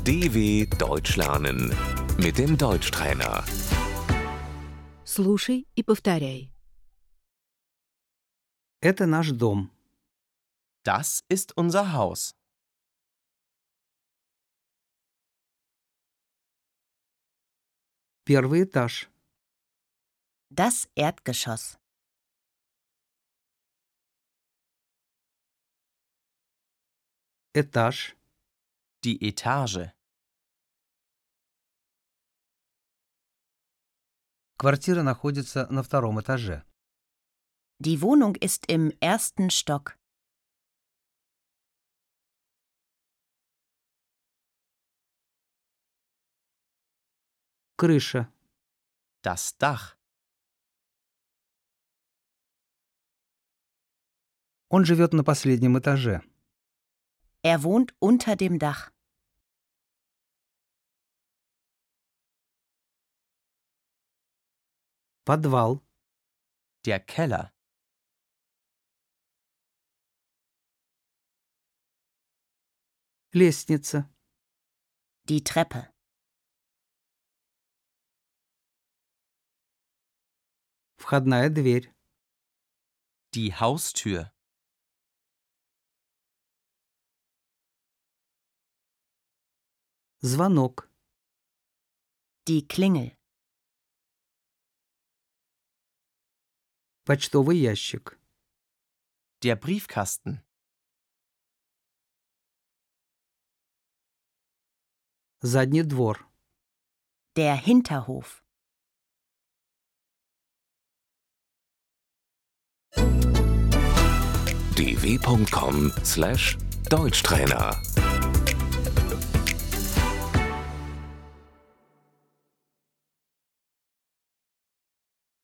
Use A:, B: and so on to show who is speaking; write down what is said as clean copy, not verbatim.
A: DW Deutsch lernen mit dem Deutschtrainer.
B: Слушай и повторяй.
C: Это наш дом.
D: Das ist unser Haus.
C: Первый этаж.
E: Das Erdgeschoss.
C: Этаж.
D: Die Etage.
C: Квартира находится на втором этаже.
E: Die Wohnung ist im ersten Stock.
C: Крыша.
D: Das Dach.
C: Он живет на последнем этаже.
E: Er wohnt unter dem Dach.
C: Подвал.
D: Der Keller.
C: Лестница.
E: Die Treppe.
C: Входная дверь.
D: Die Haustür.
C: Звонок.
E: Die Klingel.
C: Почтовый ящик.
D: Der Briefkasten.
C: Задний двор.
E: Der Hinterhof.
A: dw.com/Deutschtrainer